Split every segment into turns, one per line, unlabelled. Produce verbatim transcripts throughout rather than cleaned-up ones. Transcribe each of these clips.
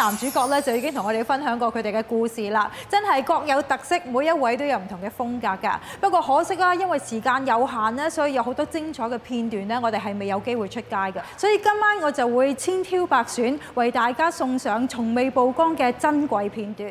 男主角咧就已經同我哋分享過佢哋嘅故事啦，真係各有特色，每一位都有唔同嘅風格㗎。不過可惜啦，因為時間有限咧，所以有好多精彩嘅片段咧，我哋係未有機會出街嘅。所以今晚我就會千挑百選，為大家送上從未曝光嘅珍貴片段。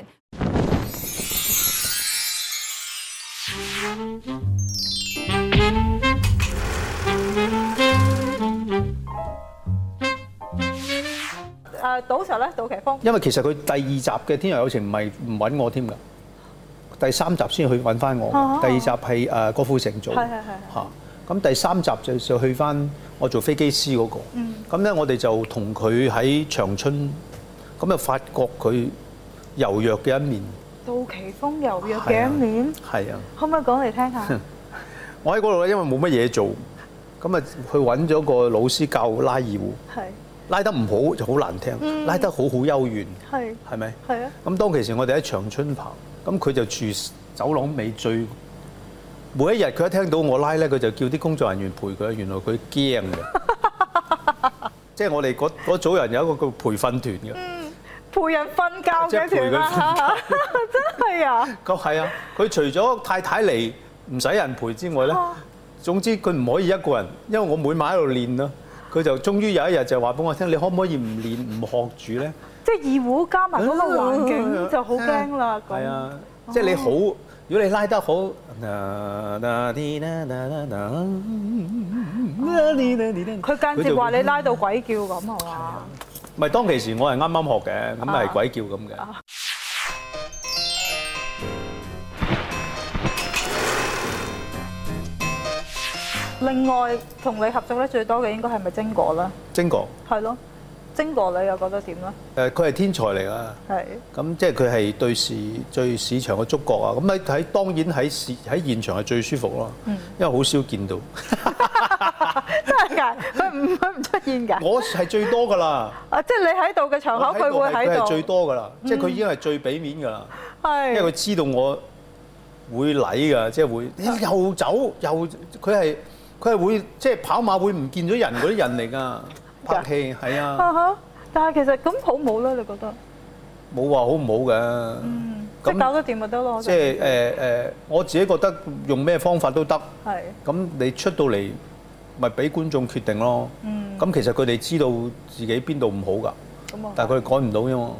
誒，賭 Sir 咧，杜琪峯。
因為其實佢第二集嘅《天若有情》唔係唔揾我添㗎，第三集先去揾翻我。
啊、
第二集係誒郭富城做。
係係係。
嚇，咁第三集就就去翻我做飛機師嗰個。嗯。咁咧，我哋就同佢喺長春，咁就發覺佢柔弱嘅一面。
杜琪峯柔弱嘅一面。係啊。可唔可以講嚟聽下？
我喺嗰度咧，因為冇乜嘢做，咁啊去揾咗個老師教拉二胡。係。拉得唔好就好難聽，嗯、拉得好好幽怨，係係咪？係啊。咁當其時我哋喺長春棚，咁佢就住走廊尾最。每一日佢一聽到我拉咧，佢就叫啲工作人員陪佢。原來佢驚嘅，即係我哋嗰嗰組人有一個叫培訓團嘅。嗯，陪人瞓覺嘅團啊！真係啊！咁係啊！佢除咗太太嚟唔使人陪之外咧，總之佢唔可以一個人，因為我每晚喺度練啦。佢就終於有一日就話俾我聽：你可唔可以唔練唔學住咧？即係二胡加埋嗰個環境就好驚啦。係啊，即係你好，如果你拉得好，佢間接話你拉到鬼叫咁係嘛？唔係當其時我係啱啱學嘅，咁係鬼叫咁嘅。另外同你合作得最多嘅應該係咪晶哥啦？晶哥係咯，晶哥你又覺得點咧？誒，佢係天才嚟㗎。係。咁即係佢係對市對市場嘅觸覺啊！咁喺喺當然喺市喺現場係最舒服咯。嗯。因為好少見到。真係㗎？佢唔佢唔出現㗎？我係最多㗎啦。啊！即係你喺度嘅場口，佢會喺度。佢係最多㗎啦，即係佢已經係最俾面㗎啦。係。因為佢知道我會禮㗎，即係會又走又佢係。佢係會即係跑馬會唔見咗人嗰啲人嚟㗎，拍戲係啊。啊哈！但係其實咁好唔好咧？你覺得？冇話好唔好嘅。嗯。即係搞得掂咪得咯。即係誒誒，我自己覺得用咩方法都得。係。咁你出到嚟咪俾觀眾決定咯。嗯。咁其實佢哋知道自己邊度唔好㗎。咁啊。但係佢哋改唔到啫嘛。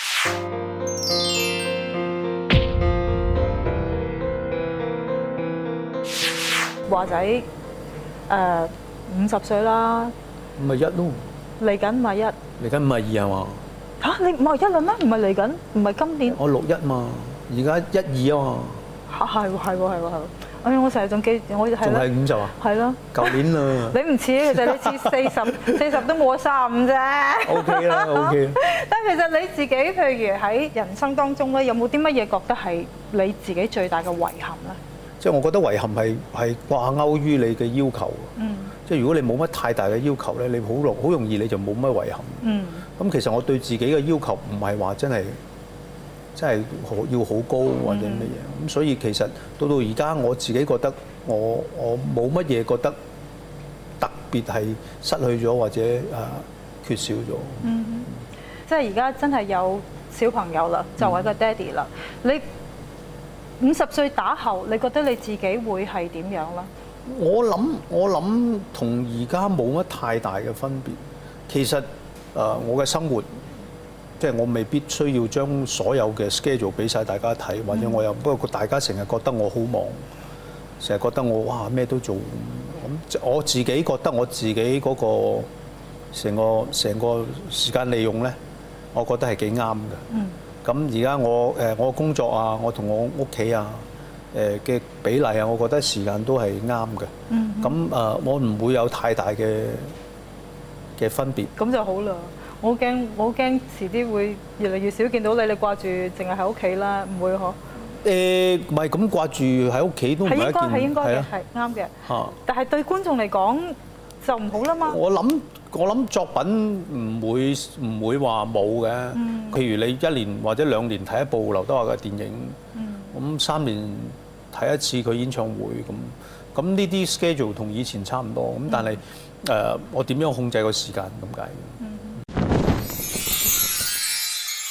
華仔。誒五十歲啦，五十一咯，嚟緊五十一，嚟緊五十二係嘛？嚇你五十一啦咩？唔係嚟緊，唔係今年。我六一嘛，而家一二啊嘛。嚇係喎係喎係喎係喎！哎呀，我成日仲記，我係仲係五十啊？係咯，舊年啦。你唔似，其實你似四十，四十都冇咗三十五啫。O K 啦 ，O K。但係其實你自己，譬如喺人生當中咧，有冇啲乜嘢覺得係你自己最大嘅遺憾咧？即係我覺得遺憾係係掛鈎於你嘅要求。嗯。即係如果你冇乜太大嘅要求咧，你好容好容易你就冇乜遺憾。嗯。咁其實我對自己嘅要求唔係話真係真係要好高或者乜嘢。咁所以其實到到而家我自己覺得我我冇乜嘢覺得特別係失去咗或者誒缺少咗。嗯。即係而家真係有小朋友啦，就係個爹哋啦。你五十歲打後，你覺得你自己會係點樣啦？我諗我諗同而家冇乜太大嘅分別。其實誒、呃，我嘅生活即係我未必需要將所有嘅 schedule 俾晒大家睇，或者我又不過大家成日覺得我好忙，成日覺得我哇咩都做。咁我自己覺得我自己嗰個成個成個時間利用咧，我覺得係幾啱嘅。嗯。咁而家我誒我工作啊，我同我屋企啊誒嘅比例啊，我覺得時間都係啱嘅。嗯。咁誒，我唔會有太大嘅嘅分別。咁就好啦。我好驚，我好驚遲啲會越嚟越少見到你，你掛住淨係喺屋企啦，唔會嗬？誒，唔係咁掛住喺屋企都唔係一件係應該係應該嘅，係啱嘅。嚇！但係對觀眾嚟講就唔好啦嘛。我諗。我諗作品唔會唔會話冇嘅，譬如你一年或者兩年睇一部劉德華嘅電影，咁三年睇一次佢演唱會咁，咁呢啲 schedule 同以前差唔多，咁但係誒我點樣控制個時間咁解？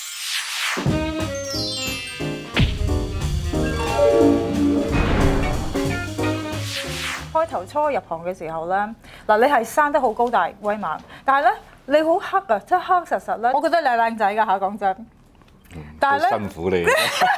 初入行嘅時候咧，嗱你係生得好高大威猛，但係咧你好黑啊，即係黑實實咧。我覺得你係靚仔㗎嚇，講真。但係咧，
辛苦你。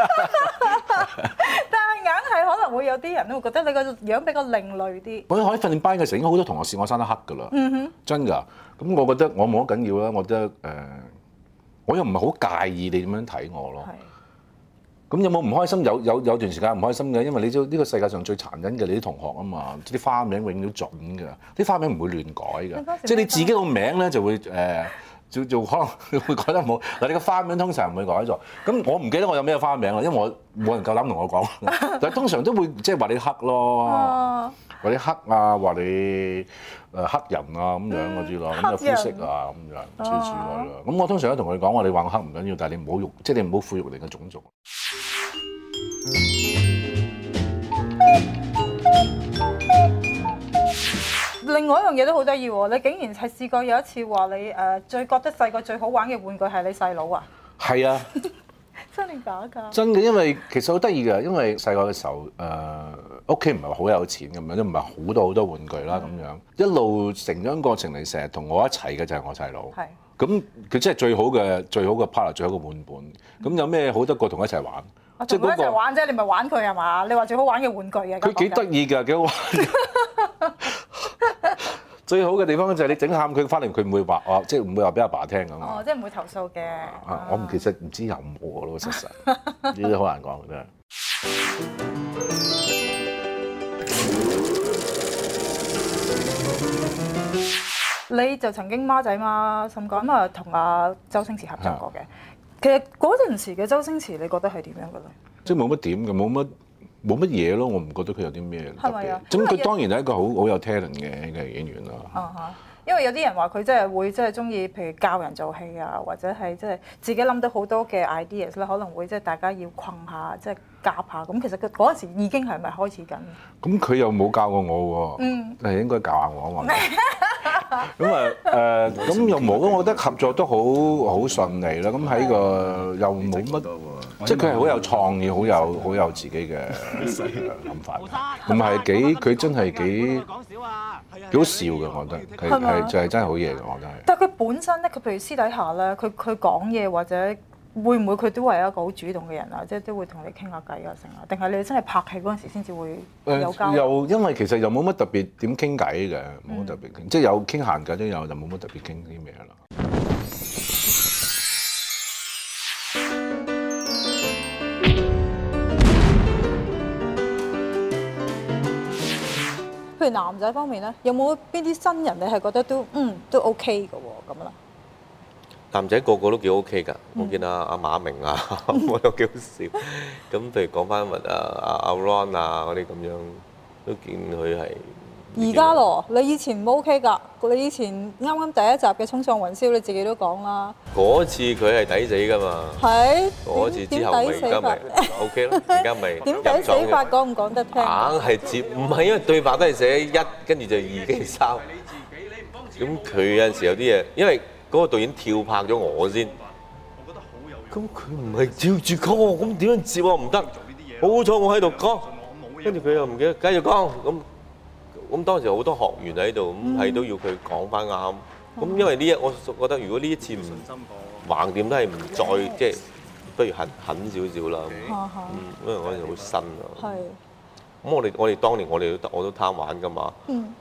但係硬係可能會有啲人都會覺得你個樣比較另類啲。
我喺訓練班嘅時候，應該好多同學試我生得黑㗎啦。嗯哼，真㗎。咁我覺得我冇乜緊要啦。我覺得誒、呃，我又唔係好介意你點樣睇我咯。咁有冇唔開心？有有有段時間唔開心嘅，因為你知呢個世界上最殘忍嘅你啲同學啊嘛，啲花名永遠都準㗎，啲花名唔會亂改㗎，即係你自己個名咧就會誒。呃就就可能會改得唔好嗱，你個花名通常唔會改咗。咁我唔記得我有咩花名啦，因為我冇人夠膽同我講。但係通常都會即係話你黑咯，話你黑啊，話你誒黑人啊咁樣嗰啲咯，咁有膚色啊咁樣諸如此類啦。咁我通常都同佢講話，你話我黑唔緊要，但係你唔好用，即係你唔好侮辱你嘅種族。
另外一樣嘢都好得意喎，你竟然係試過有一次話你誒最覺得細個最好玩嘅玩具係你細佬啊？係啊，真定假㗎？
真嘅，因為其實好得意㗎，因為細個嘅時候誒屋企唔係好有錢咁樣，都唔係好多好多玩具啦咁樣，一路成長過程嚟，成日同我一齊嘅就係我細佬。係。咁佢真係最好嘅最好嘅 partner，最好嘅玩伴。咁有咩好得過同佢一齊玩？
即係同佢一齊玩啫，你咪玩佢係嘛？你話最好玩嘅玩具嘅。
佢幾得意㗎，幾好玩。最好嘅地方就係你整喊佢翻嚟，佢唔會話哦，即係唔會話俾阿爸聽咁。
哦，即係唔會投訴嘅。
啊，我唔其實唔知有冇咯，實實呢啲好難講嘅真係。
你就曾經孖仔孖甚咁啊，同阿周星馳合作過嘅。其實嗰陣時嘅周星馳，你覺得係點樣嘅咧？
即係冇乜點嘅，冇乜。冇乜嘢咯，我唔覺得佢有啲咩特別。咁佢當然係一個好好有 talent 嘅嘅演員啦。
啊哈！因為有啲人話佢真係會真係中意，譬如教人做戲啊，或者係即係自己諗到好多嘅 ideas 咧，可能會即係大家要困下，即係夾下。咁其實佢嗰陣時已經係咪開始緊？
咁佢又冇教過我喎。嗯。係應該教下我啊嘛。咁啊誒，咁又冇咯。我覺得合作都好好順利啦。咁喺個又冇乜，即係佢係好有創意，好有好有自己嘅諗法。唔係幾，佢真係幾幾好笑嘅，我覺得係係就係真係好嘢嘅，我覺得係。
但係佢本身咧，佢譬如私底下咧，佢佢講嘢或者會唔會佢都係一個好主動嘅人啊？即係都會同你傾下偈啊，成啊？定係你真係拍戲嗰陣時先至會有交流？
又因為其實又冇乜特別點傾偈嘅，冇乜特別傾，即係有傾閒偈都有，就冇乜特別傾啲咩啦。
譬如男仔方面咧，有冇邊啲新人你係覺得都嗯都 OK 嘅喎咁啦？
男仔個個都幾 OK 㗎，我見阿阿馬明啊，我都幾好笑。咁譬如講翻乜啊阿阿 Ron 啊嗰啲咁樣，都見佢係。
而家咯，你以前唔 OK 㗎，你以前啱啱第一集嘅《衝上雲霄》，你自己都講啦。
嗰次佢係抵死㗎嘛。係。嗰次之後咪而家咪 OK 咯，而家咪。
點抵死法講唔講得聽？
硬係接，唔係因為對白都係寫一，跟住就二跟住三。咁佢有陣時有啲嘢，因為嗰個導演跳拍咗我先。我覺得好有。咁佢唔係照住講我，咁點樣接我唔得？好彩我喺度講，跟住佢又唔記得繼續講咁。咁當時好多學員喺度，咁係都要佢講翻啱。咁因為呢一，我覺得如果呢一次唔橫掂都係唔再即係，不如狠狠少少啦。嗯，因為嗰陣時好新啊。係。咁我哋我哋當年我哋都我都貪玩㗎嘛。嗯。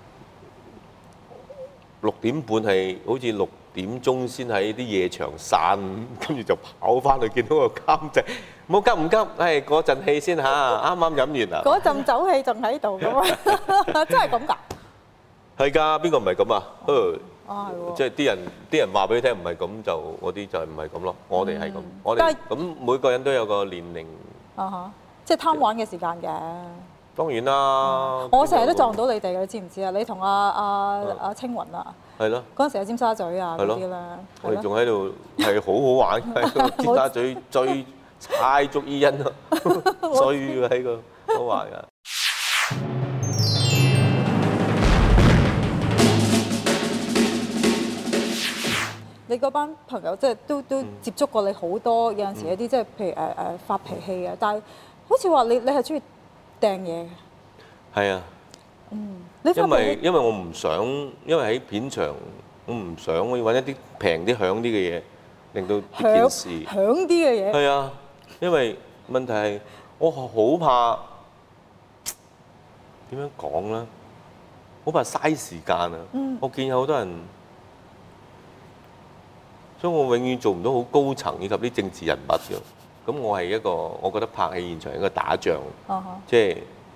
六點半係好似六點鐘先喺啲夜場散，跟住就跑翻去見到個監製。冇急唔急，係嗰陣氣先嚇，啱啱飲完啦。嗰陣酒氣仲喺度㗎嘛？真係咁㗎？係㗎，邊個唔係咁啊？啊係喎。即係啲人啲人話俾你聽唔係咁，就嗰啲就係唔係咁咯。我哋係咁，我哋咁每個人都有個年齡。啊哈！即係貪玩嘅時間嘅。當然啦。我成日都撞到你哋嘅，你知唔知啊？你同阿阿阿青雲啊。係咯。嗰陣時喺尖沙咀啊嗰啲啦。我哋仲喺度係好好玩嘅，尖沙咀追。猜足伊人咯，所以喺個都話㗎。你嗰班朋友即係都都接觸過你好多，有陣時有啲即係譬如誒誒發脾氣啊，但係好似話你你係中意掟嘢嘅。係啊。
嗯，
因為因為我唔想，因為喺片場我唔想我要揾一啲平啲響啲嘅嘢，令到呢件事
響啲嘅嘢。
係啊，因為問題係我好怕點樣講咧，好怕嘥時間啊！嗯、我見有好多人，所以我永遠做唔到好高層以及啲政治人物嘅。咁我係一個，我覺得拍戲現場係一個打仗，即係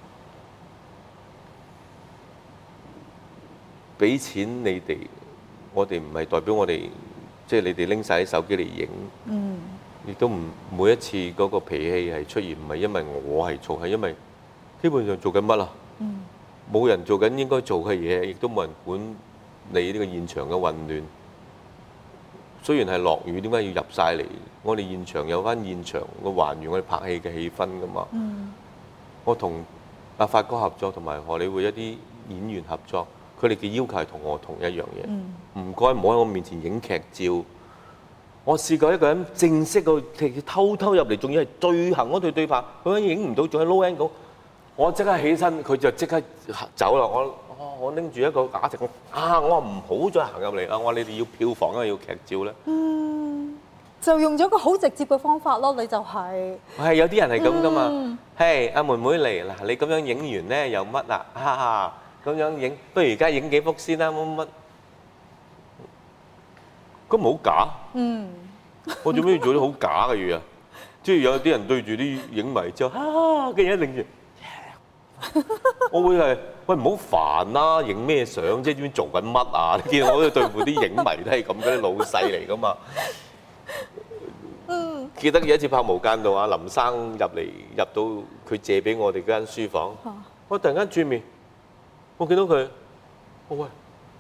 俾錢你哋，我哋唔係代表我哋，即係你哋拎晒啲手機嚟影，亦都唔每一次嗰個脾氣係出現，唔係因為我係錯，係因為基本上做緊乜啊？冇人做緊應該做嘅嘢，亦都冇人管你呢個現場嘅混亂。雖然係落雨，點解要入晒嚟？我哋現場有翻現場個還原我哋拍戲嘅氣氛噶嘛。嗯、我同阿發哥合作，同埋荷里活一啲演員合作，佢哋嘅要求係同我同一樣嘢。唔該、嗯，唔好喺我面前影劇照。我試過一個人正式個偷偷入嚟，仲要係最後嗰對對拍，佢影唔到，仲喺 low angle。我即刻起身，佢就即刻走啦。我我拎住一個假席，啊！我話唔好再行入嚟啊！我話你哋要票房啊，要劇照咧。嗯，
就用咗個好直接嘅方法咯，你就係、是。
係有啲人係咁噶嘛？係阿、嗯 hey, 妹妹嚟嗱，你咁樣影完咧又乜啊？哈哈，咁樣影，不如而家影幾幅先啦，乜乜。咁好假。嗯。我做咩要做啲好假嘅嘢啊？即係有啲人對住啲影迷之後，啊嘅嘢擰住。我會係喂，唔好煩啦，影咩相即係知唔知做緊乜啊？你見我哋對付啲影迷都係咁，嗰啲老細嚟噶嘛。嗯。記得有一次拍《無間道》啊，林生入嚟入到佢借俾我哋間書房，啊、我突然間轉面，我見到佢，我喂，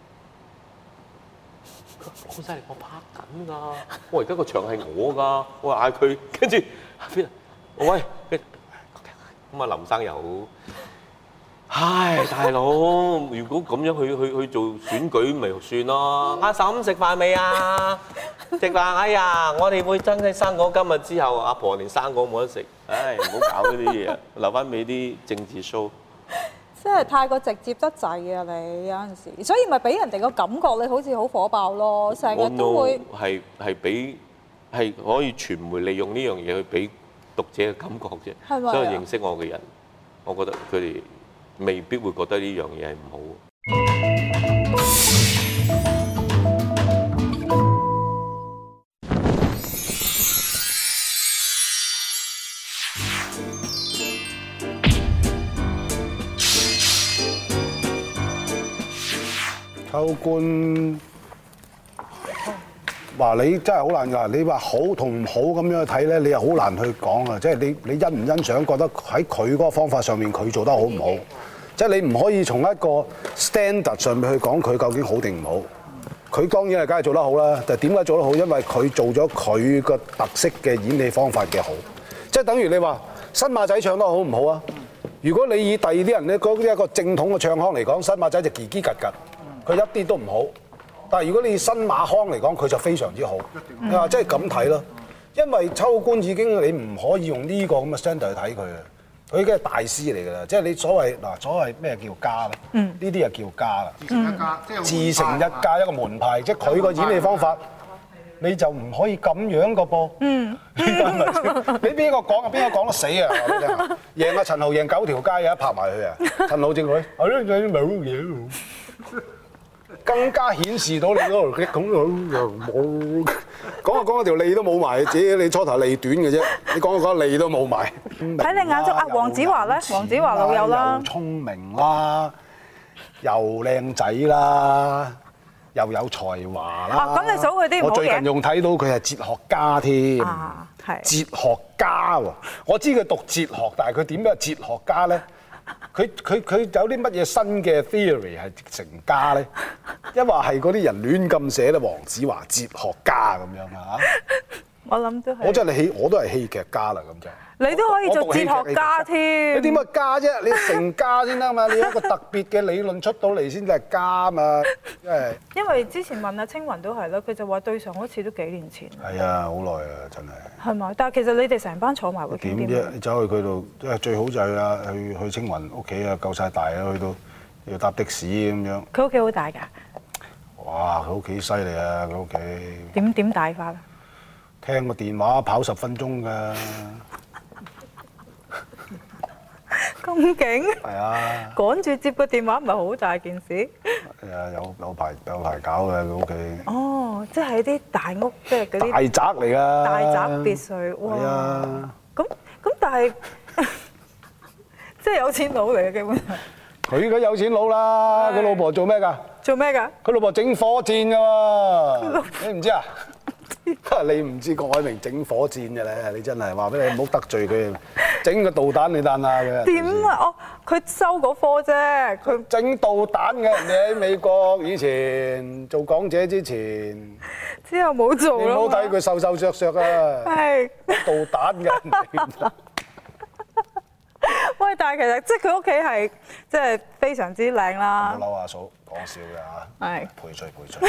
好犀利，我拍緊㗎，我而家個場係我㗎，我嗌佢，跟住邊啊？我喂，咁啊林生又好。唉，大佬，如果咁樣去去去做選舉，咪算咯。阿嬸食飯未啊？食飯，哎呀，我哋會爭起生果。今日之後，阿婆連生果冇得食。唉，唔好搞呢啲嘢，留翻俾啲政治 show。
真係太過直接得滯啊！你有陣時，所以咪俾人哋個感覺你好似好火爆咯，成日都會
係係俾係可以傳媒利用呢樣嘢去俾讀者嘅感覺啫。係咪？所以認識我嘅人，我覺得佢哋未必會覺得呢樣嘢係唔好。
秋官話你真係好難㗎，你話好同唔好咁樣去睇咧，你又好難去講啊！即係你你欣唔欣賞，覺得喺佢嗰個方法上面佢做得好唔好？即係你唔可以從一個 standard 上面去講佢究竟好定唔好。佢當然係梗係做得好啦，但係點解做得好？因為佢做咗佢個特色嘅演戲方法嘅好。即係等於你話新馬仔唱得好唔好啊？如果你以第二啲人咧嗰啲一個正統嘅唱腔嚟講，新馬仔就嘰嘰格格。佢一啲都唔好，但係如果你以新馬腔嚟講，佢就非常之好。你話即係咁睇咯，因為秋官已經你唔可以用呢個咁嘅 standard 去睇佢啊，佢已經係大師嚟㗎啦。即係你所謂嗱，所謂咩叫家咧？呢啲就叫家啦。自成一家，即係自成一家一個門派，即係佢個演戲方法，你就唔可以咁樣個噃。嗯，你邊個講啊？邊個講得死啊？我話你聽，贏阿陳豪贏九條街啊，拍埋佢啊！陳豪正佢，係咯，有啲冇嘢。更加顯示到你嗰度咁樣又冇講下講下條脷都冇埋，自己你初頭脷短嘅啫，你講下講下脷都冇埋。
喺你眼中，阿黃子華咧，黃子華老友啦，
又聰明啦，又靚仔啦，又有才華啦。
啊，咁你數佢啲唔好嘅。
我最近仲睇到佢係哲學家添，
啊，係
哲學家喎。我知佢讀哲學，但係佢點樣哲學家咧？佢佢佢有啲乜嘢新嘅 theory 係成家咧？一話係嗰啲人亂咁寫咧，黃子華哲學家咁樣啊？
我諗都係。
我真係戲，我都係戲劇家啦咁就。
你都可以做哲學家添。
你點乜家啫？你成家先得嘛？你有一個特別嘅理論出到嚟先至係家嘛？因為因
為之前問阿青雲都係咯，佢就話對上嗰次都幾年前。
係啊，好耐啊，真係。
係咪？但係其實你哋成班坐埋會點
啫？你走去佢度，即係最好就係啊，去去青雲屋企啊，夠晒大啊，去到要搭的士咁樣。
佢屋企好大㗎？
哇！佢屋企犀利啊！佢屋企
點點大法啊？
聽個電話跑十分鐘㗎。
咁勁？
係啊！
趕住接個電話唔係好大件事。
係啊，有有排有排搞嘅佢屋企。
哦，即係啲大屋，即係嗰啲
大宅嚟㗎。
大宅別墅，哇！
係啊。
咁咁，但係即係有錢佬嚟嘅基本上。
佢而家有錢佬啦，佢老婆做咩㗎？
做咩㗎？
佢老婆整火箭㗎喎，你唔知啊？你唔知郭藹明整火箭嘅咧，你真係話俾你唔好得罪佢，整個導彈你彈下嘅。
點啊？哦，佢收嗰科啫，佢
整導彈嘅，人哋喺美國以前做港姐之前，
之後冇做啦。
你唔好睇佢瘦瘦削削啊，
係
導彈嘅人嚟。
喂，但係其實即係佢屋企係即係非常之靚啦。
唔好嬲阿嫂，講笑嘅嚇。
係。
賠罪賠罪。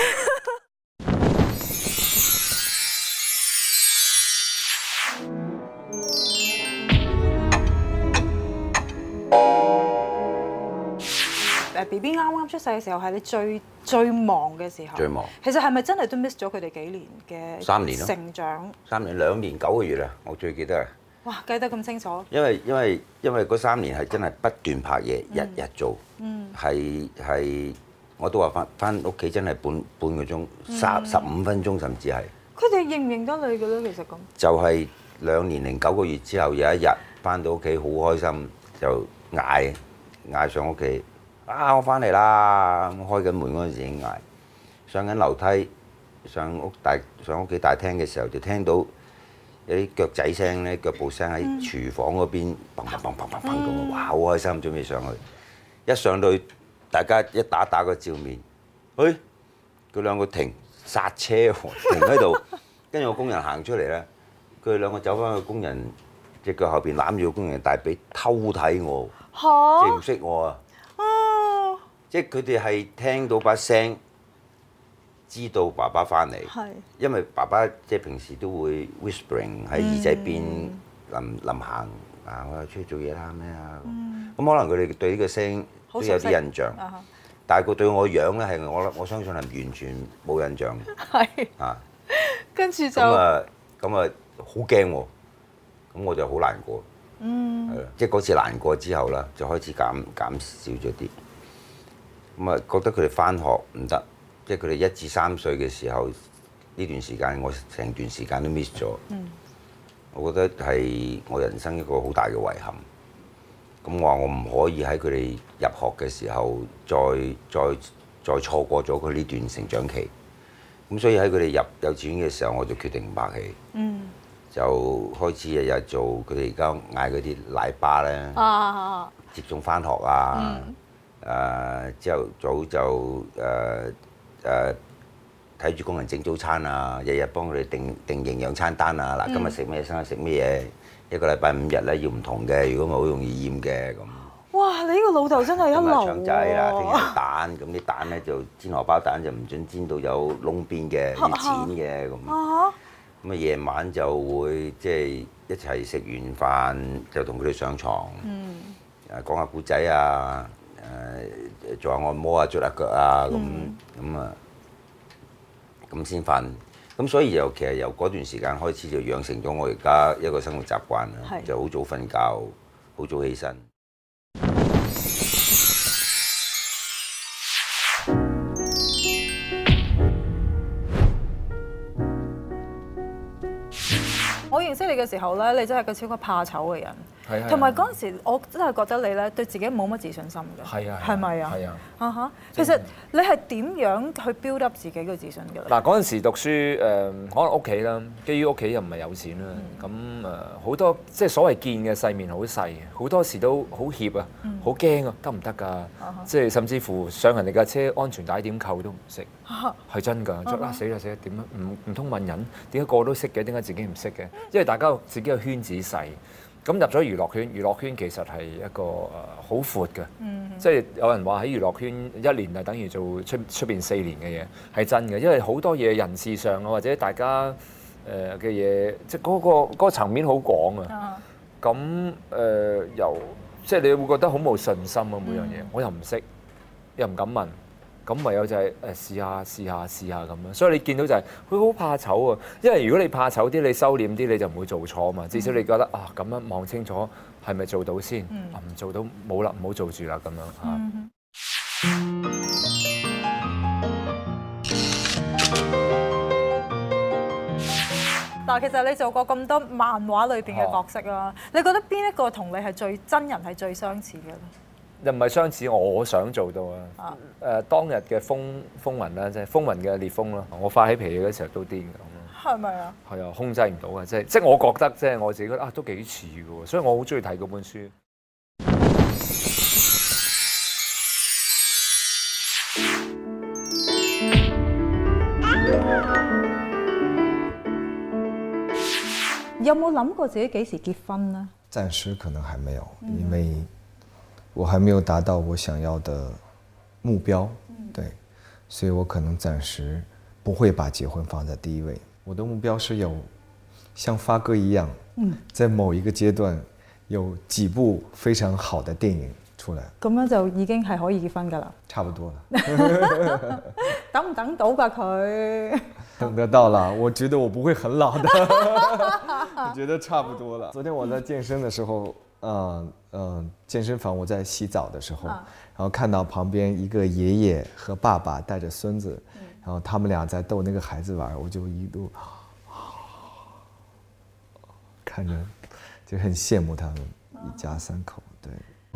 誒 B B 啱啱出世嘅時候係你最最忙嘅時候。
最忙。
其實係咪真係都 miss 咗佢哋幾年嘅
三年咯
成長？
三年兩年九個月啊！我最記得啊。
哇，記得咁清楚。
因為因為因為嗰三年係真係不斷拍嘢，日日做，係係我都話翻翻屋企真係半半個鐘，三十五分鐘甚至係。
佢哋認唔認得你嘅咧？其實咁。
就係兩年零九個月之後有一日翻到屋企好開心，就嗌嗌上屋企。啊！我翻嚟啦！開緊門嗰陣時已經嗌，上緊樓梯上屋大上屋企大廳嘅時候，就聽到有啲腳仔聲咧，腳步聲喺廚房嗰邊砰砰砰砰砰砰咁，哇！好開心，準備上去。一上到去，大家一打打個照面，誒佢兩個停剎車喎，停喺度，跟住個工人行出嚟咧，佢哋兩個走翻去工人隻腳後邊攬住個工人大髀偷睇我，即係唔識我啊！即係佢哋係聽到把聲，知道爸爸翻嚟。係。因為爸爸即係平時都會 whispering 喺耳仔邊臨臨行啊，我又出去做嘢啦咩啊咁。咁可能佢哋對呢個聲都有啲印象。但係佢對我樣咧係我我相信係完全冇印象。係。啊。跟住就。咁啊咁啊好驚喎！咁我就好難過。嗯。係啦，即係嗰次難過之後啦，就開始減減少咗啲。咁啊，覺得佢哋翻學唔得，即係佢哋一至三歲嘅時候呢段時間，我成段時間都 miss 咗。嗯、我覺得係我人生一個好大嘅遺憾。咁我話我唔可以喺佢哋入學嘅時候再再再錯過咗佢呢段成長期。咁所以喺佢哋入幼稚園嘅時候，我就決定唔拍戲。嗯、就開始日日做佢哋而家嗌嗰啲奶爸咧，啊、接送翻學啊。嗯誒朝頭早就誒誒睇住工人整早餐啊，日日幫佢哋定定營養餐單啊。嗱，今日食咩？生日食咩嘢？一個禮拜五日咧要唔同嘅，如果唔係好容易厭嘅咁。哇！你呢個老豆真係一流喎。腸仔啦，聽日蛋，咁啲蛋咧就煎荷包蛋就唔準煎到有窿邊嘅，要剪嘅咁。咁啊夜晚就會即係一齊食完飯就同佢哋上床，誒講下故仔啊。誒做下按摩啊，捽下腳啊，咁咁啊，咁先瞓。咁所以由其實由嗰段時間開始就養成咗我而家一個生活習慣啦，就好早瞓覺，好早起身。
我認識你嘅時候咧，你真係個超級怕醜嘅人。
係啊，
同埋嗰陣時，我真係覺得你咧對自己冇乜自信心嘅。
係啊，
係咪啊？
係啊。
啊哈！其實你係點樣去 build up 自己嘅自信嘅咧？
嗱，嗰陣時讀書誒，可能屋企啦，基於屋企又唔係有錢啦，咁誒好多即係所謂見嘅世面好細，好多時都好怯啊，好驚啊，得唔得㗎？即係甚至乎上人哋架車安全帶點扣都唔識，係真㗎，就啊死啦死啦點啊？唔唔通問人點解個個都識嘅？點解自己唔識嘅？因為大家自己個圈子細。咁入咗娛樂圈，娛樂圈其實係一個誒好闊嘅，嗯、即係有人話喺娛樂圈一年就等於做出出邊四年嘅嘢，係真嘅，因為好多嘢人事上啊，或者大家誒嘅嘢，即係嗰個嗰個層面好廣啊。咁誒由即係你會覺得好冇信心啊，每樣嘢、嗯、我又唔識，
又唔敢問，咁唯有就係誒試下試下試下咁樣。所以你見到就係佢好怕醜啊，因為如果你怕醜啲，你收斂啲，你就唔會做錯啊嘛。至少你覺得啊咁樣望清楚係咪做到先，唔做到冇啦，唔好做住啦咁樣嚇。
嗱，其實你做過咁多漫畫裏邊嘅角色啦，你覺得邊一個同你係最真人係最相似嘅咧？
又唔係相似，我想做到啊！誒，當日嘅風風雲啦，即係風雲嘅烈風啦，我發起脾氣嗰時候都癲嘅咁。係咪啊？係啊，控制唔到嘅，即係即係我覺得，即係我自己覺得啊，都幾似嘅喎，所以我好中意睇嗰本書。
有冇諗過自己幾時結婚呢？
暫時可能還沒有，因為我還沒有達到我想要的目標，對，所以我可能暫時不會把結婚放在第一位。我的目標是有像發哥一樣，在某一個階段有幾部非常好的電影出來。
咁樣就已經係可以結婚㗎啦。
差不多了。
等唔等到㗎佢？
等得到了，我覺得我不會很老的。我覺得差不多了。昨天我在健身的時候，嗯嗯，健身房我在洗澡的時候，然後看到旁邊一個爺爺和爸爸帶着孫子，然後他們倆在逗那個孩子玩，我就一路看着就很羨慕他們一家三口。對。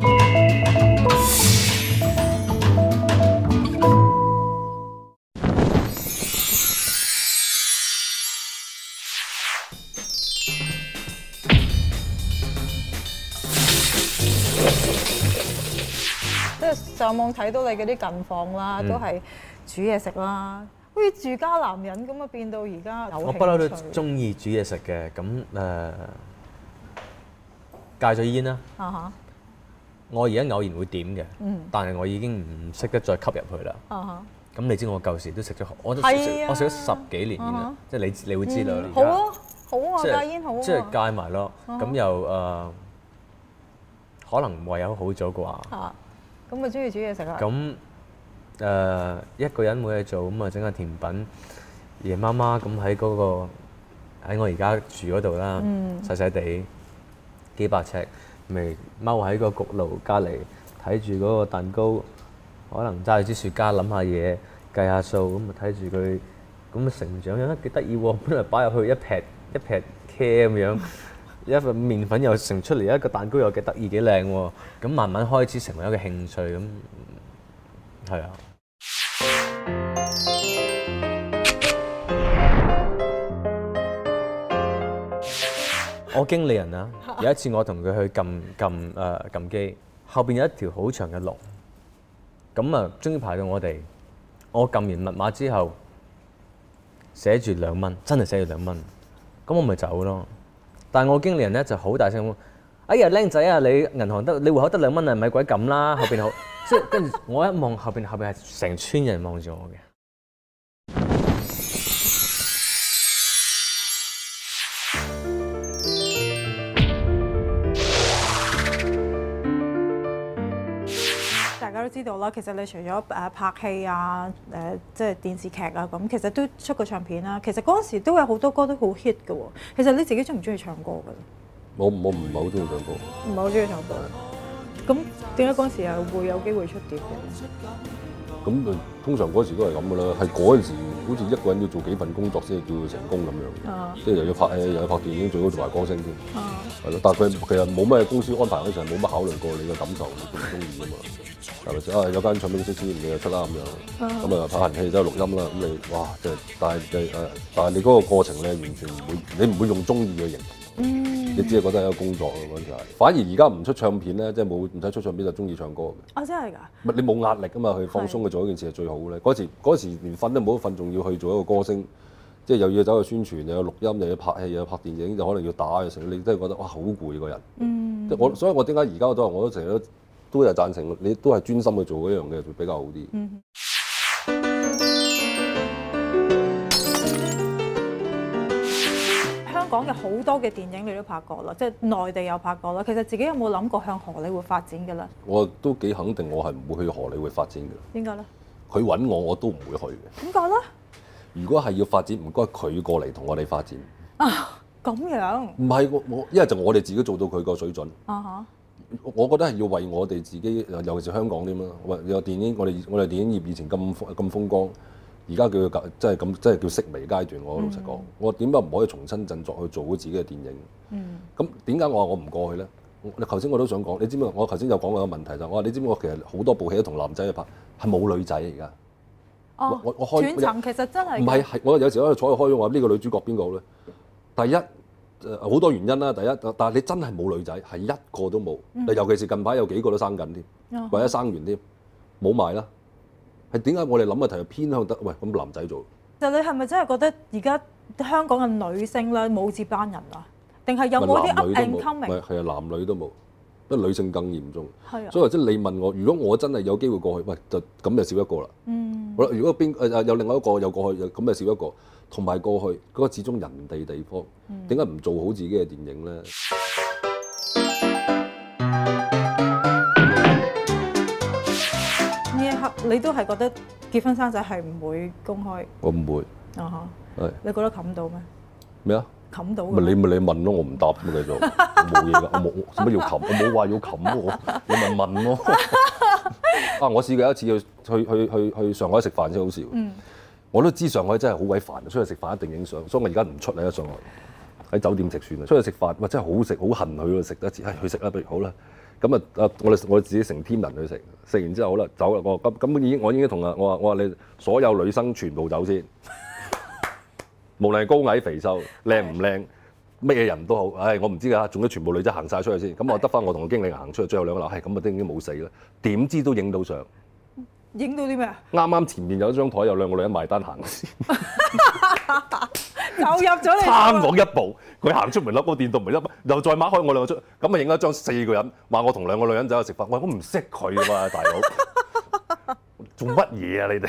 上網睇到你嗰啲近況啦，都係煮嘢食啦，好似住家男人咁啊，變到而家有興趣。
我不嬲都中意煮嘢食嘅，咁誒戒咗煙啦。啊哈！我而家偶然會點嘅，但係我已經唔識得再吸入去啦。啊哈！咁你知我舊時都食咗，我都食我食咗十幾年煙啦，即係你你會知道啦。
好啊，好啊，戒煙好啊。
即係戒埋咯，咁又誒可能唯有好咗啩。
咁咪中意煮嘢食啊？
咁誒、呃、一個人冇嘢做，咁啊整下甜品，夜媽媽咁喺嗰個喺我而家住嗰度啦，細細地幾百尺，咪踎喺個焗爐隔離睇住嗰個蛋糕，可能揸住支雪茄諗下嘢，計下數，咁啊睇住佢咁啊成長，樣幾得意喎！本來擺入去一劈一劈茄咁樣。一份麵粉又成出嚟，一個蛋糕又幾得意幾靚喎，咁慢慢開始成為一個興趣咁，係啊。我經理人啊，有一次我同佢去撳撳誒撳機，後邊有一條好長嘅龍，咁啊終於排到我哋，我撳完密碼之後，寫住兩蚊，真係寫住兩蚊，咁我咪走咯。但係我經理人咧就好大聲講：哎呀，僆仔啊，你銀行得你戶口得兩蚊啊，咪鬼撳啦！後邊好，即係跟住我一望後邊，後邊係成村人望住我嘅。
大家都知道啦，其實你除咗誒拍戲啊、誒即係電視劇啊咁，其實都出過唱片啦。其實嗰陣時都有好多歌都好 hit 嘅喎。其實你自己中唔中意唱歌㗎？
我我唔係好中意唱歌。
唔係好中意唱歌。咁點解嗰陣時又會有機會出碟嘅？
咁誒，通常嗰時都係咁嘅啦。係嗰陣時，好似一個人要做幾份工作先係叫做成功咁樣。啊！即係又要拍戲，又要拍電影，最好做埋歌星添。啊！係咯，但係佢其實冇咩公司安排嗰陣，冇乜考慮過你嘅感受，你中唔中意啊嘛？係咪先啊？有間唱片公司你就出啦咁樣，咁啊拍完戲都係錄音啦。咁你哇，即係但係誒，但係你嗰個過程咧，完全唔會，你唔會用中意去形容。嗯，你只係覺得係一個工作咯嗰陣時係。反而而家唔出唱片咧，即係冇唔使出唱片就中意唱歌嘅。
啊，真係㗎！
唔係你冇壓力啊嘛，去放鬆去做一件事係最好咧。嗰時嗰時連瞓都冇得瞓，仲要去做一個歌星，即係又要走去宣傳，又要錄音，又要拍戲，又要拍電影，就可能要打嘅時候，你真係覺得哇好攰個人。嗯，即係我，所以我點解而家我都我都成日都都係贊成你都係專心去做嗰樣嘅，就比較好啲。嗯。
香港嘅好多嘅電影你都拍過啦，即係內地有拍過啦。其實自己有冇諗過向荷里活發展嘅咧？
我都幾肯定，我係唔會去荷里活發展嘅。
點解咧？
佢揾我，我都唔會去嘅。
點解咧？如
果係要發展，唔該佢過嚟同我哋發展。
啊，咁樣？
唔係我我，因為就我哋自己做到佢個水準。啊哈！我覺得係要為我哋自己，尤其是香港添啦。有電影，我哋我哋電影業以前咁咁風光。而家叫佢即係咁，即係叫式微階段。我老實講，嗯、我點解唔可以重新振作去做好自己嘅電影？咁點解我話我唔過去咧？你頭先我都想講，你知唔知？我頭先有講過個問題就係，我話你知唔知？我其實好多部戲都同男仔去拍，係冇女仔而家。
哦，
我我開
斷層其實真係
唔係係我有時喺度坐去開咗話呢個女主角邊個咧？第一誒好、呃、多原因啦。第一，但係你真係冇女仔，係一個都冇。嗯、尤其是近排有幾個都生緊添，嗯、或者生完添，冇埋啦。係點解我哋諗嘅題係偏向得？喂，咁男仔做？其實你係咪真係覺得而家香港嘅女星咧冇接班人啊？定係有冇啲 up and coming？唔係係啊，男女都冇，不過女性更嚴重。係啊，所以即係你問我，如果我真係有機會過去，喂，就咁就少一個啦。嗯。好啦，如果邊誒有另外一個又過去，咁就少一個。同埋過去嗰、嗰個始終人哋地方，點解唔做好自己嘅電影咧？你都係覺得結婚生仔係唔會公開？我唔會。啊哈！係。你覺得冚到咩？咩啊？冚到。咪你咪你問咯，我唔答咁繼續。冇嘢㗎，我冇做乜要冚？我冇話要冚喎，你咪問咯。啊！我試過一次去去去去去上海食飯先好笑。嗯。我都知上海真係好鬼煩，出去食飯一定影相，所以我而家唔出嚟喺上海，喺酒店食算啦。出去食飯，哇！真係好食，好恨去嗰度食得一次。唉，去食啦，不如好啦。咁啊！啊！我哋我哋自己成 team 人去食，食完之後好啦，走啦。我咁咁已經我已經同啊我話我話你所有女生全部走先，無論係高矮肥瘦、靚唔靚，乜嘢人都好。唉，我唔知㗎，總之全部女仔行晒出去先。咁我得翻我同個經理行出去，最後兩個鬧，係咁啊，都已經冇死啦。點知都影到相。影到啲咩啊？啱啱前面有一張台，有兩個女人埋單行先。就入咗嚟，差我一步，佢行出門口，個電動門一，又再擘開我兩個出，咁啊影咗張四個人，話我同兩個女人走去食飯，喂，我唔識佢㗎嘛，大佬，做乜嘢啊你哋？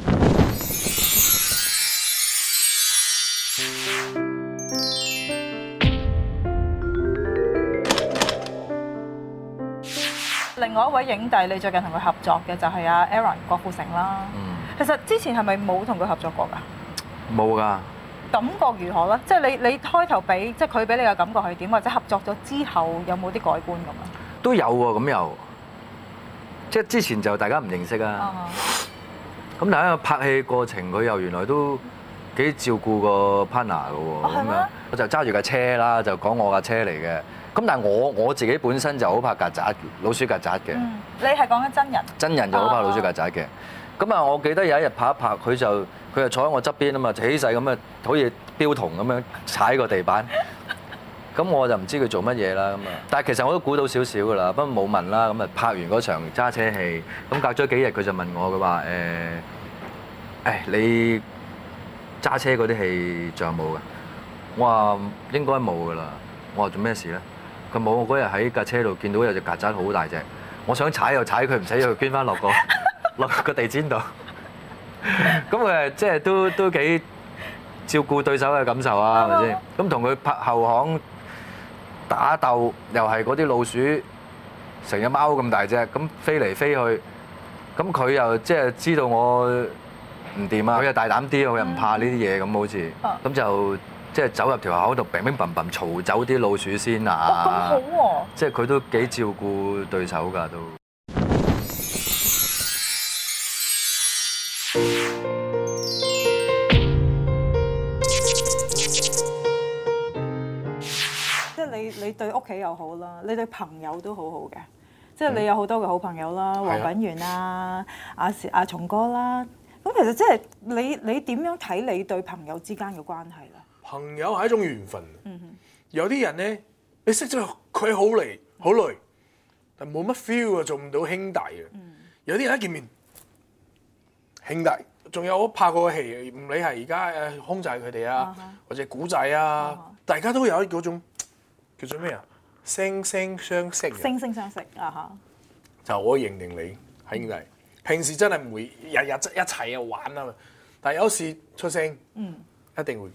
另外一位影帝，你最近同佢合作嘅就係阿 Aaron 郭富城啦。嗯、其實之前係咪冇同佢合作過㗎？冇㗎。感覺如何咧？即係你你開頭俾即係佢俾你嘅感覺係點？或者合作咗之後有冇啲改觀咁啊？都有喎，咁又即係之前就大家唔認識啊。咁、uh huh. 但係個拍戲過程，佢又原來都幾照顧個 partner 嘅喎。咁樣我就揸住架車啦，就講我架車嚟嘅。咁但係我我自己本身就好怕曱甴、老鼠曱甴嘅。嗯、你係講緊真人？真人就好怕老鼠曱甴嘅。咁啊，我記得有一日拍一拍，佢就佢就坐喺我側邊啊嘛，起勢咁啊，好似標童咁樣踩個地板。咁我就唔知佢做乜嘢啦咁啊。但係其實我都估到少少㗎啦，不過冇問啦。咁啊，拍完嗰場揸車戲，咁隔咗幾日佢就問我，佢話誒，誒你揸車嗰啲戲仲有冇㗎？我話應該冇㗎啦。我話做咩事咧？佢冇，我嗰日喺架車度見到有隻曱甴好大隻，我想踩又踩佢唔使，要捐翻落個落個地氈度。咁誒，即係都都幾照顧對手嘅感受啊，係咪先？咁同佢拍後巷打鬥，又係嗰啲老鼠成隻貓咁大隻，咁飛嚟飛去，咁佢又即係知道我唔掂啊，佢又大膽啲，佢又唔怕呢啲嘢，咁好似，咁就。即係走入條口度，乒乒乓乓嘈走啲老鼠先啊！哦，咁好喎！即係佢都幾照顧對手㗎都。即係你你對屋企又好啦，你對朋友都好好嘅。即係你有好多嘅好朋友啦，黃品源啦、阿阿松哥啦。咁其實即係你你點樣睇你對朋友之間嘅關係咧？朋友係一種緣分，嗯、哼有啲人咧，你識咗佢好嚟好耐，但冇乜 feel 啊，做唔到兄弟嘅。嗯、有啲人一見面，兄弟，仲有我拍過嘅戲，唔理係而家誒空仔佢哋啊，啊哈或者古仔啊，啊哈大家都有嗰種叫做咩啊，惺惺相惜。惺惺相惜啊嚇！就我認定你係兄弟，嗯、平時真係唔會日日一齊啊玩啊嘛，但係有時出聲，嗯、一定會。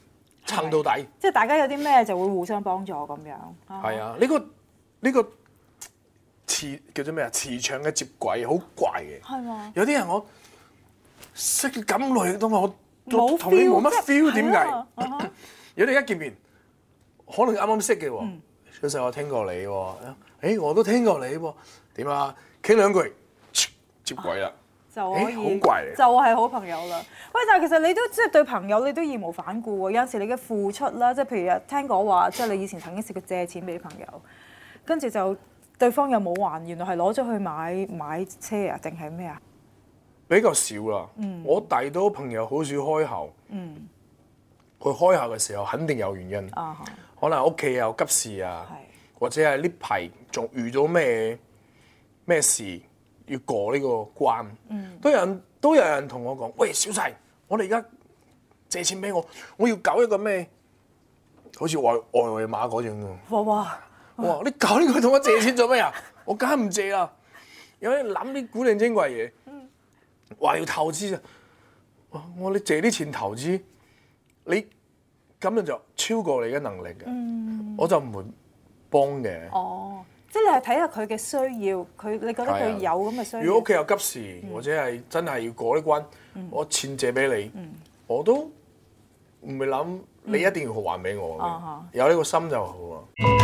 撐到底。
即係大家有啲咩就會互相幫助咁樣。
係啊，呢個呢個磁叫做咩啊？磁場嘅接軌好怪嘅。
係嘛？
有啲人我識咁耐都我都同你冇乜 feel， 點解？如果你一見面，可能啱啱識嘅喎，小細我聽過你喎，誒我都聽過你喎，點啊？傾兩句接軌啦。
就可以，
好怪嚟，
就係好朋友啦。喂，但係其實你都即係對朋友，你都義無反顧喎。有陣時你嘅付出啦，即係譬如聽講話，即係你以前曾經試過借錢俾啲朋友，跟住就對方又冇還，原來係攞咗去買買車啊，定係咩啊？
比較少啦。
嗯、
我大多朋友好少開口。嗯。佢開口嘅時候肯定有原因。啊、可能屋企有急事啊，或者係呢排仲遇到咩咩事。要過呢個關，嗯、都有人都有人同我講：喂，小細，我哋而家借錢俾我，我要搞一個咩？好似外外圍碼嗰種喎。哇哇！哇！你搞呢個同我借錢做咩啊？我梗係唔借啦。有啲諗啲古靈精怪嘢，話要投資啊！我你借啲錢投資，你咁樣就超過你嘅能力嘅，嗯、我就唔會幫嘅。
哦。即係你係睇下佢嘅需要，佢你覺得佢有咁嘅需要。
如果屋企有急事，嗯、或者係真係要過呢關，嗯、我錢借俾你，嗯、我都唔會諗你一定要還俾我嘅。嗯、有呢個心就好啊。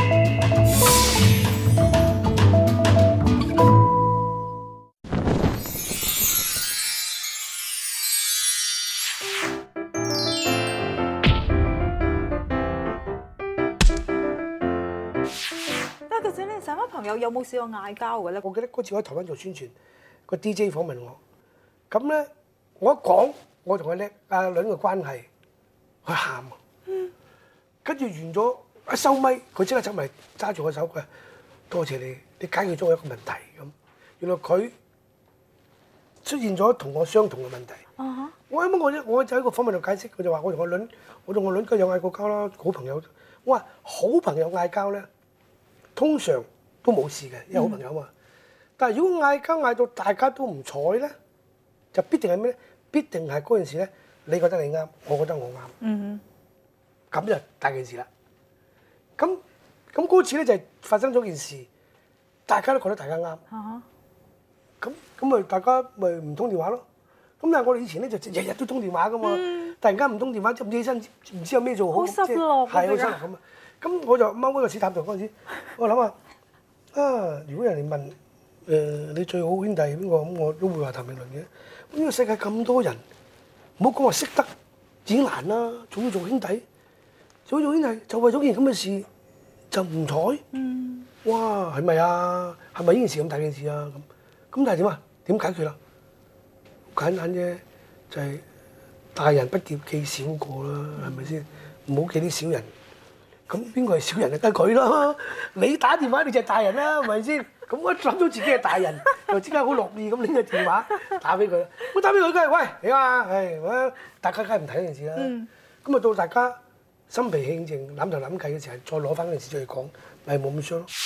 成班朋友有冇試過嗌交嘅咧？
我記得嗰次我喺台灣做宣傳，個 D J 訪問我，咁咧我一講我同阿叻阿倫嘅關係，佢喊啊，跟住完咗一收咪，佢即刻走埋揸住我手，佢話多謝你，你解決咗我一個問題咁。原來佢出現咗同我相同嘅問題。Uh huh. 我啱啱我我就喺個訪問度解釋，佢就話我同我倫，我同我倫佢有嗌過交啦，好朋友。我話好朋友嗌交咧，通常都冇事嘅，因為好朋友嘛。嗯、但係如果嗌交嗌到大家都唔睬咧，就必定係咩咧？必定係嗰件事咧，你覺得你啱，我覺得我啱。嗯哼，咁就大件事啦。咁咁嗰次咧就係發生咗件事，大家都覺得大家啱。咁咁咪大家咪唔通電話咯。咁但係我哋以前咧就日日都通電話噶嘛，嗯、突然間唔通電話，即唔知起身，唔知有咩做好。好失落，係好失落咁啊！咁我就踎喺個屎塔度嗰陣時，我諗下。啊！如果人哋問誒、呃、你最好兄弟係邊個咁，我都會話譚詠麟嘅。呢個世界咁多人，唔好講話識得已經難啦，仲要做兄弟，做做兄弟就為咗件咁嘅事就唔睬。嗯。哇！係咪啊？係咪呢件事咁大件事啊？咁咁但係點啊？點解決啦？簡單啫，就係、是、大人不記記小過啦，係咪先？唔好記啲小人。咁邊個係小人就梗係佢啦！你打電話你就係大人啦，係咪先？咁我諗到自己係大人，就即刻好樂意咁拎個電話打俾佢。我打俾佢，梗係喂你啊，係，大家梗係唔睇呢件事啦。咁啊、嗯、到大家心平氣靜諗頭諗計嘅時候，再攞翻嗰件事出嚟講，咪冇咁傷咯。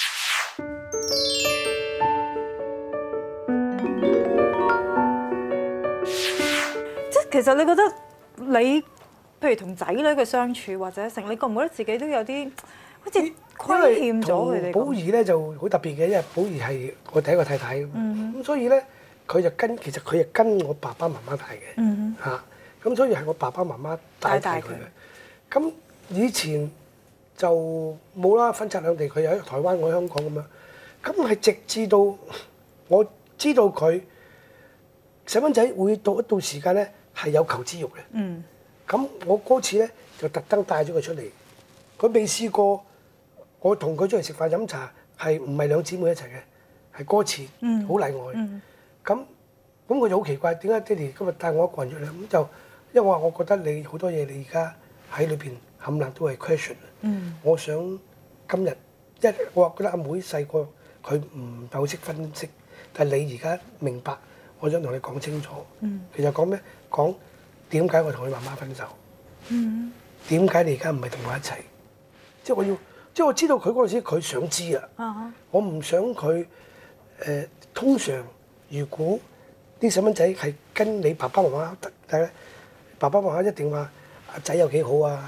即係其實你覺得你？譬如同仔女嘅相處或者成，你覺唔覺得自己都有啲好似虧欠咗佢哋？寶儀咧就好特別嘅，因為寶儀係我第一個太太咁，咁、嗯、哼所以咧佢就跟其實佢係跟我爸爸媽媽大嘅嚇，咁、嗯哼啊、所以係我爸爸媽媽帶大佢嘅。咁以前就冇啦，分拆兩地，佢又喺台灣，我喺香港咁樣。咁係直至到我知道佢細蚊仔會到一到時間咧係有求知慾嘅。嗯咁我嗰次咧就特登帶咗佢出嚟，佢未試過，我同佢出嚟食飯飲茶係唔係兩姊妹一齊嘅，係嗰次，好例外。咁咁佢就好奇怪，點解爹哋今日帶我一個人出嚟？咁就因為我話我覺得你好多嘢你而家喺裏邊冚唪唥都係 question。嗯、我想今日一我話覺得阿妹細個佢唔係好識分析，但係你而家明白，我想同你講清楚。嗯、其實講咩講？點解我同佢媽媽分手？點解、嗯、你而家唔係同我一齊？即係我要，即係我知道佢嗰陣時佢想知啊。Uh huh. 我唔想佢誒、呃。通常如果啲細蚊仔係跟你爸爸媽媽得，但係爸爸媽媽一定話阿仔有幾好啊，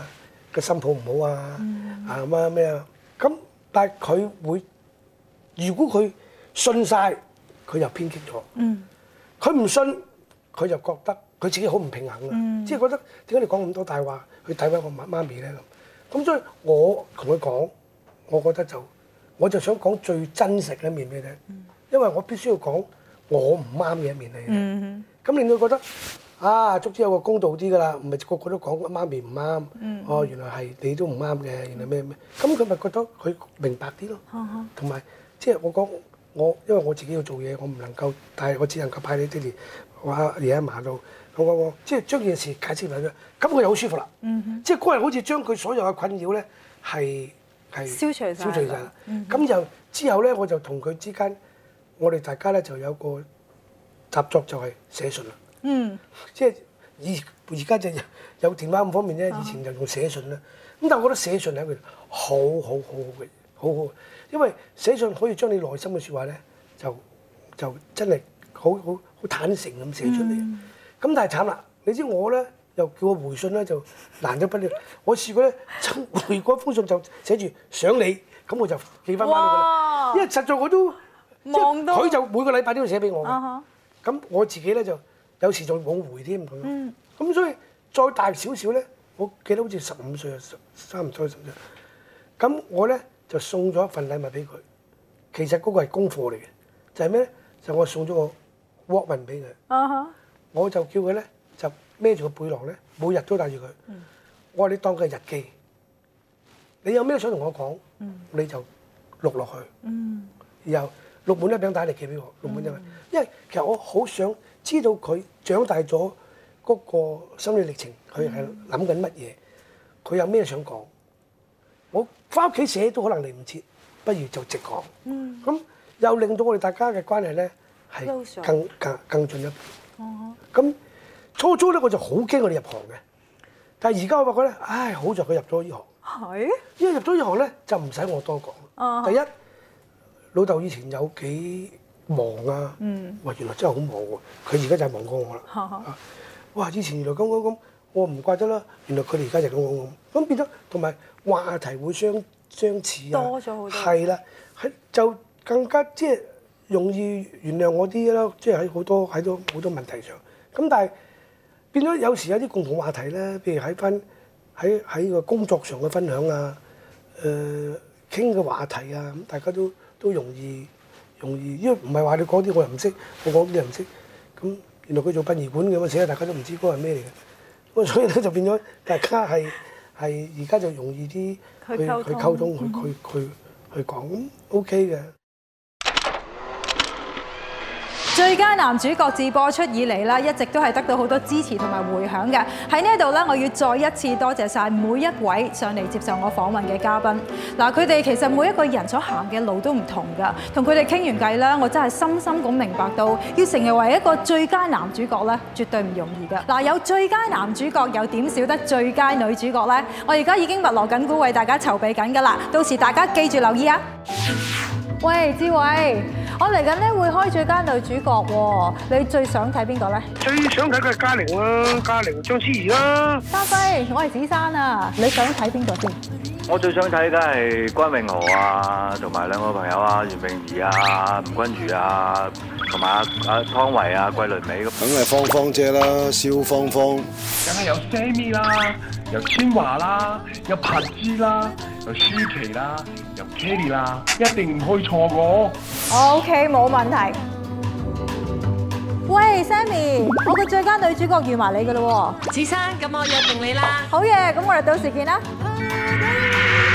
個心抱唔好啊，啊咁啊咩啊，咁但係佢會，如果佢信晒，佢就偏激咗。佢唔信，佢就覺得佢自己好唔平衡啊，即係覺得點解你講咁多大話去詆毀我媽媽咪咧咁？咁所以我同佢講，我覺得就我就想講最真實嘅一面俾你聽，因為我必須要講我唔啱嘅一面嚟。咁令到佢覺得。啊，足之有個公道啲㗎啦，唔係個個都講媽咪唔啱。嗯、哦，原來係你都唔啱嘅，原來咩咩？咁佢咪覺得佢明白啲咯。同埋即係我講我，因為我自己要做嘢，我唔能夠，但係我只能夠派你爹哋我阿爺阿嫲度，我我我即係將件事解釋埋佢，咁佢就好舒服啦。嗯、哼即係嗰日好似將佢所有嘅困擾咧係係消除晒。消除晒啦。咁就之後咧，我就同佢之間，我哋大家咧就有個習作就係寫信啦。嗯，即係而而家就有電話咁方面咧，以前就用寫信啦。咁但係我覺得寫信係一個好好好好嘅，好好，因為寫信可以將你內心嘅説話咧，就就真係好好好坦誠咁寫出嚟。咁、嗯、但係慘啦，你知我咧又叫我回信咧就難得不了。我試過咧回嗰封信就寫住想你，咁我就寄翻翻俾佢啦。因為實在我都望到佢就每個禮拜都要寫俾我嘅。咁、uh huh. 我自己咧就。有時仲冇回添咁，咁、嗯、所以再大少少咧，我記得好似十五歲啊，差唔多十歲。咁我咧就送咗一份禮物俾佢，其實嗰個係功課嚟嘅，就係咩咧？就我送咗個 Walkman 俾佢，uh huh. 我就叫佢咧就孭住個背囊咧，每日都帶住佢。嗯、我話你當佢係日記，你有咩想同我講，嗯、你就錄落去，嗯、然後錄滿一餅帶嚟寄俾我，錄滿一餅，嗯、因為其實我好想。知道佢長大咗嗰個心理歷程，佢係諗緊乜嘢？佢有咩想講？我翻屋企寫都可能嚟唔切，不如就直講。咁、嗯、又令到我哋大家嘅關係咧係更更更進一步。咁、嗯、初初咧我就好驚我哋入行嘅，但係而家我發覺咧，唉，好在佢入咗呢行。係是，因為入咗呢行咧就唔使我多講。嗯、第一，老豆以前有幾忙啊！嗯，哇，原來真係好忙喎！佢而家就係忙過我啦。哈哈哇！以前原來咁咁咁，我唔怪得啦。原來佢哋而家就咁咁咁，咁變咗同埋話題會相相似啊。多咗好多。係啦，係就更加即係容易原諒我啲啦。即係喺好多喺多好多問題上。咁但係變咗有時有啲共同話題咧，譬如喺翻喺喺個工作上嘅分享啊，誒傾嘅話題啊，咁大家都都容易。容易，因為唔係話你講啲我又唔識，我講啲又唔識，咁原來佢做殯儀館嘅嘛，寫大家都唔知嗰個係咩嚟嘅，咁所以咧就變咗大家係係而家就容易啲去去溝通，去去去去講，咁 OK 嘅。
最佳男主角自播出以嚟啦，一直都係得到好多支持同埋迴響嘅。喺呢度咧，我要再一次多謝晒每一位上嚟接受我訪問嘅嘉賓。嗱，佢哋其實每一個人所行嘅路都唔同㗎。同佢哋傾完偈咧，我真係深深咁明白到，要成為一個最佳男主角咧，絕對唔容易㗎。嗱，有最佳男主角，又點少得最佳女主角呢？我而家已經密鑼緊鼓為大家籌備緊㗎啦，到時大家記住留意啊！喂，志偉。我嚟緊咧會開最佳女主角喎，你最想睇邊個咧？
最想睇嘅係嘉玲啦，嘉玲、章詩怡啦。
嘉輝，我係子珊啊，你想睇邊個先？
我最想睇梗係關詠荷啊，同埋兩個朋友啊，袁詠儀啊、吳君如啊，同埋阿阿湯唯啊、桂綸鎂咁。梗係芳芳姐啦，蕭芳芳。梗係有 Sammy 啦，有千嬅啦，有柏芝啦，有舒淇啦，有 Kelly 啦，一定唔可以錯過。
OK， 冇問題。喂 ，Sammy， 我嘅最佳女主角預埋你㗎啦喎。
子珊，咁我約定你啦。
好嘢，咁我哋到時見啦。